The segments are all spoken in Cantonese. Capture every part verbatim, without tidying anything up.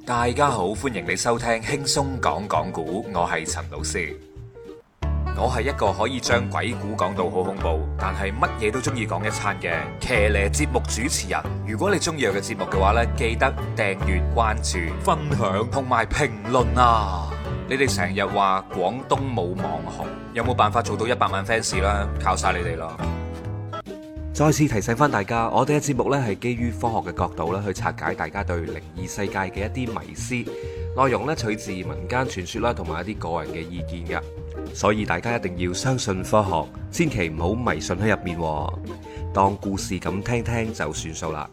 大家好，歡迎你收聽輕鬆講講古，我係陳老師。我係一個可以將鬼故講到好恐怖，但係乜嘢都中意講一餐嘅騎呢節目主持人。如果你中意我嘅節目嘅話呢，記得訂閱、關注、分享同埋評論啊！你哋成日話廣東冇網紅，有冇辦法做到一百萬 fans 啦？靠晒你哋咯！再次提醒翻大家，我哋嘅節目呢係基於科學嘅角度啦，去拆解大家對靈異世界嘅一啲迷思，內容呢取自民間傳說啦，同埋一啲個人嘅意見嘅，所以大家一定要相信科學，千祈唔好迷信喺入面，當故事咁聽聽就算數啦。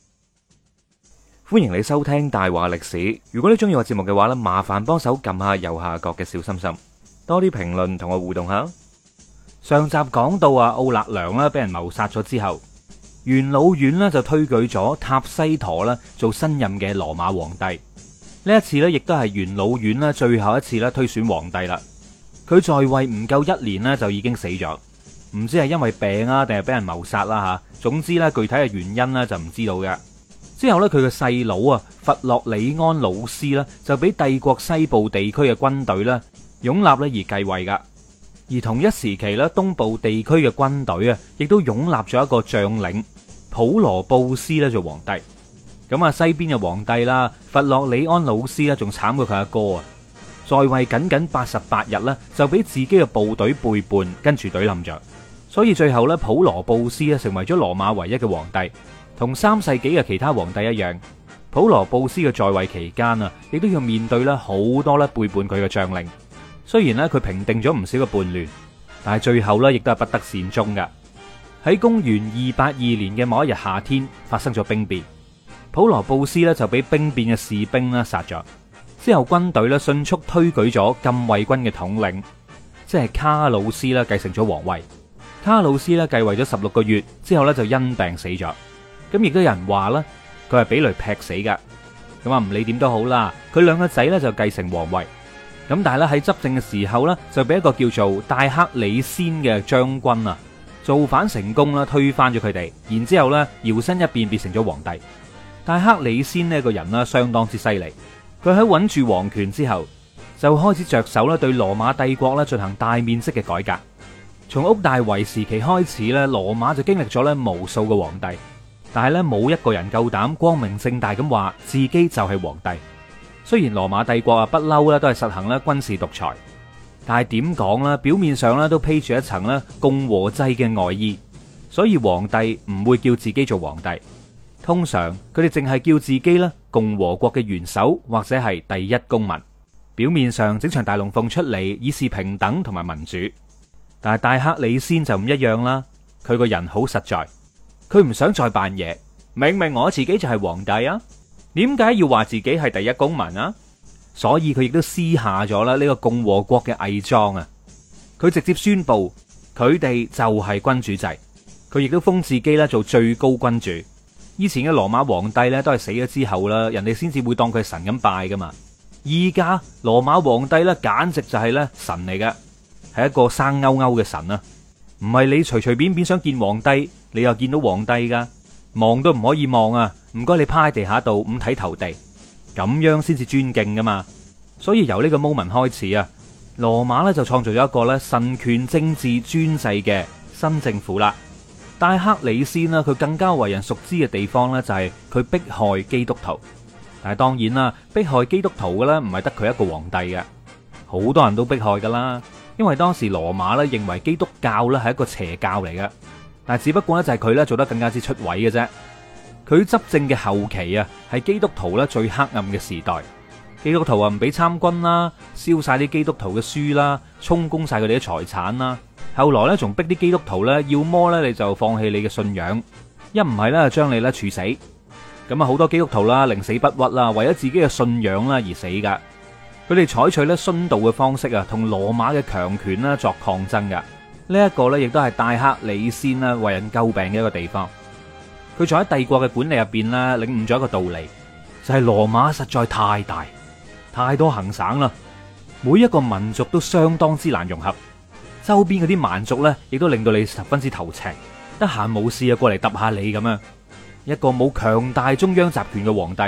歡迎你收聽大話歷史。如果你中意我節目嘅話呢，麻煩幫手撳下右下角嘅小心心，多啲評論同我互動下。上集講到啊，奧勒良啦俾人謀殺咗之後，元老院呢就推舉咗塔西佗啦做新任嘅羅馬皇帝。呢一次呢亦都係元老院啦最後一次啦推選皇帝啦。佢在位唔夠一年呢就已經死咗，唔知係因為病啊定係俾人謀殺啦吓。總之呢具體嘅原因呢就唔知道嘅。之後呢佢嘅細佬啊弗洛里安努斯呢就俾帝國西部地區嘅軍隊呢擁立咧而繼位噶。而同一時期咧，東部地區嘅軍隊啊，亦都擁立咗一個將領普羅布斯咧做皇帝。咁啊，西邊嘅皇帝啦，弗洛里安努斯咧，仲慘過佢阿哥啊，在位僅僅八十八日咧，就俾自己嘅部隊背叛，跟住隊冧咗。所以最後咧，普羅布斯咧成為咗羅馬唯一嘅皇帝。同三世紀嘅其他皇帝一樣，普羅布斯嘅在位期間啊，亦都要面對咧好多咧背叛佢嘅將領。雖然咧佢平定咗唔少嘅叛亂，但係最後咧亦都係不得善終噶。喺公元二八二年嘅某一日夏天，發生咗兵變，普羅布斯咧就俾兵變嘅士兵咧殺咗。之後軍隊咧迅速推舉咗禁衛軍嘅統領，即係卡魯斯啦，繼承咗皇位。卡魯斯咧繼位咗十六個月之後咧就因病死咗。咁亦都有人話啦，佢係俾雷劈死噶。咁啊唔理點都好啦，佢兩個仔咧就繼承皇位。咁但係咧喺執政嘅時候咧，就俾一個叫做戴克里先嘅將軍啊造反成功啦，推翻咗佢哋，然之後咧搖身一變變成咗皇帝。戴克里先呢個人呢相當之犀利，佢喺穩住皇權之後，就開始着手咧對羅馬帝國咧進行大面積嘅改革。從屋大維時期開始咧，羅馬就經歷咗咧無數個皇帝，但係咧冇一個人夠膽光明正大咁話自己就係皇帝。雖然羅馬帝國啊不嬲咧都係實行咧軍事獨裁，但係點講咧？表面上咧都披住一層咧共和制嘅外衣，所以皇帝唔會叫自己做皇帝。通常佢哋淨係叫自己咧共和國嘅元首或者係第一公民。表面上整場大龍鳳出嚟，以示平等同埋民主。但係戴克里先就唔一樣啦，佢個人好實在，佢唔想再扮嘢。明明我自己就係皇帝啊！點解要話自己係第一公民啊？所以佢亦都施下咗啦呢個共和國嘅偽裝啊！佢直接宣布佢哋就係君主制，佢亦都封自己咧做最高君主。以前嘅羅馬皇帝咧都係死咗之後啦，人哋先至會當佢係神咁拜噶嘛。依家羅馬皇帝咧簡直就係咧神嚟嘅，係一個生勾勾嘅神啊！唔係你隨隨便便想見皇帝，你又見到皇帝噶，望都唔可以望啊！唔該，你趴喺地下度五體投地，咁樣先至尊敬噶嘛。所以由呢個 moment 開始啊，羅馬咧就創造咗一個咧神權政治專制嘅新政府啦。戴克里先啦，佢更加為人熟知嘅地方咧就係佢迫害基督徒。但係當然啦，迫害基督徒嘅咧唔係得佢一個皇帝嘅，好多人都迫害噶啦。因為當時羅馬咧認為基督教咧係一個邪教嚟嘅，但係只不過咧就係佢咧做得更加之出位嘅啫。佢執政嘅後期啊，係基督徒咧最黑暗嘅時代。基督徒啊唔俾參軍啦，燒晒啲基督徒嘅書啦，充公晒佢哋嘅財產啦。後來咧仲逼啲基督徒咧，要麼咧你就放棄你嘅信仰，一唔係咧就將你咧處死。咁啊好多基督徒啦，寧死不屈啦，為咗自己嘅信仰啦而死噶。佢哋採取咧殉道嘅方式啊，同羅馬嘅強權啦作抗爭噶。呢一個咧亦都係戴克里先啦為人詬病嘅一個地方。佢仲喺帝國嘅管理入邊咧，領悟咗一個道理，就係羅馬實在太大，太多行省啦，每一個民族都相當之難融合，周邊嗰啲蠻族咧，亦都令到你十分之頭赤，得閒冇事啊過嚟揼下你咁樣。一個冇強大中央集權嘅皇帝，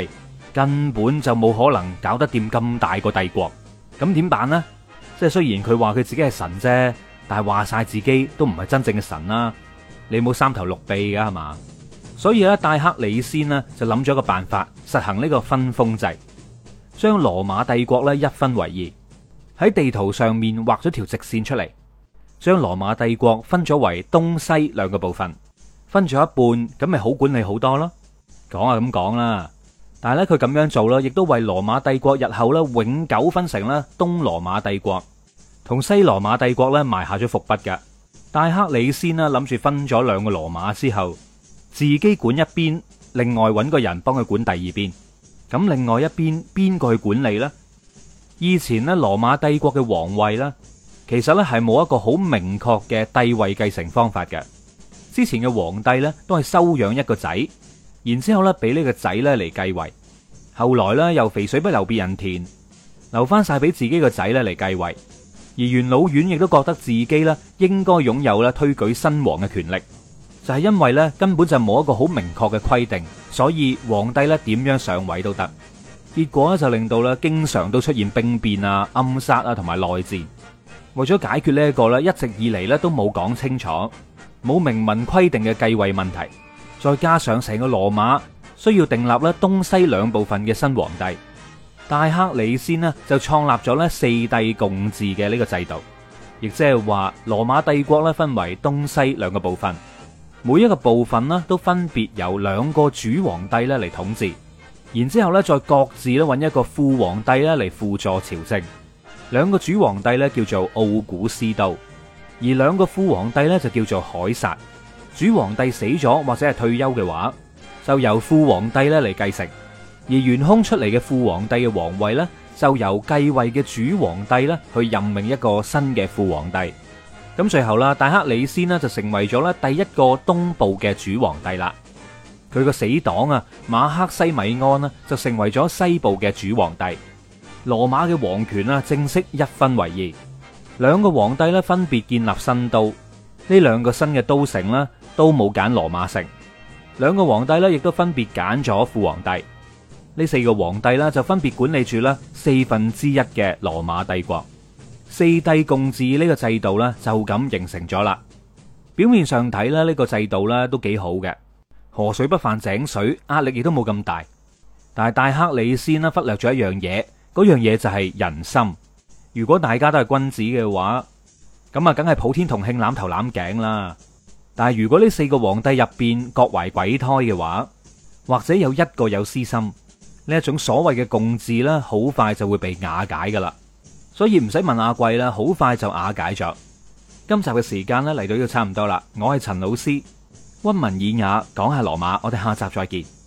根本就冇可能搞得掂咁大個帝國。咁點辦呢？即係雖然佢話佢自己係神啫，但係話晒自己都唔係真正嘅神啦。你冇三頭六臂噶係嘛？所以咧，戴克里先呢就諗咗個辦法，實行呢個分封制，將羅馬帝國咧一分為二，喺地圖上面畫咗條直線出嚟，將羅馬帝國分咗為東西兩個部分，分咗一半，咁咪好管理好多咯。講啊咁講啦，但係咧佢咁樣做啦，亦都為羅馬帝國日後咧永久分成咧東羅馬帝國同西羅馬帝國咧埋下咗伏筆噶。戴克里先啦諗住分咗兩個羅馬之後，自己管一邊，另外揾個人幫佢管第二邊。咁另外一邊邊個去管理呢？以前咧羅馬帝國嘅皇位咧，其實咧係冇一個好明確嘅帝位繼承方法嘅。之前嘅皇帝咧都係收養一個仔，然之後咧俾呢個仔咧嚟繼位。後來咧又肥水不流別人田，留翻晒俾自己個仔咧嚟繼位。而元老院亦都覺得自己咧應該擁有咧推舉新王嘅權力，就係因為咧根本就冇一個好明確嘅規定，所以皇帝咧點樣上位都得。結果咧就令到咧經常都出現兵變啊、暗殺啊同埋內戰。為咗解決呢一個咧一直以嚟咧都冇講清楚、冇明文規定嘅繼位問題，再加上成個羅馬需要訂立咧東西兩部分嘅新皇帝，戴克里先呢就創立咗咧四帝共治嘅呢個制度，亦即係話羅馬帝國咧分為東西兩個部分，每一個部分呢都分別由兩個主皇帝咧嚟統治，然之後咧再各自咧揾一個副皇帝咧嚟輔助朝政。兩個主皇帝咧叫做奧古斯都，而兩個副皇帝咧就叫做凱撒。主皇帝死咗或者係退休嘅話，就由副皇帝咧嚟繼承。而懸空出嚟嘅副皇帝嘅皇位呢，就由繼位嘅主皇帝呢去任命一個新嘅副皇帝。咁最後啦，戴克里先呢就成為咗咧第一個東部嘅主皇帝啦。佢個死黨啊馬克西米安呢就成為咗西部嘅主皇帝。羅馬嘅皇權啊正式一分為二，兩個皇帝呢分別建立新都。呢兩個新嘅都城呢都冇揀羅馬城，兩個皇帝呢亦都分別揀咗副皇帝。呢四個皇帝啦，就分別管理住啦四分之一嘅羅馬帝國。四帝共治呢個制度咧，就咁形成咗啦。表面上睇咧，呢個制度咧都幾好嘅，河水不犯井水，壓力亦都冇咁大。但係戴克里先啦忽略咗一樣嘢，嗰樣嘢就係人心。如果大家都係君子嘅話，咁啊，梗係普天同慶攬頭攬頸啦。但係如果呢四個皇帝入邊各懷鬼胎嘅話，或者有一個有私心，呢一種所謂嘅共治啦，好快就會被瓦解噶啦。所以唔使問阿貴啦，好快就瓦解咗。今集嘅時間咧嚟到呢度差唔多啦，我係陳老師，溫文爾雅講下羅馬，我哋下集再見。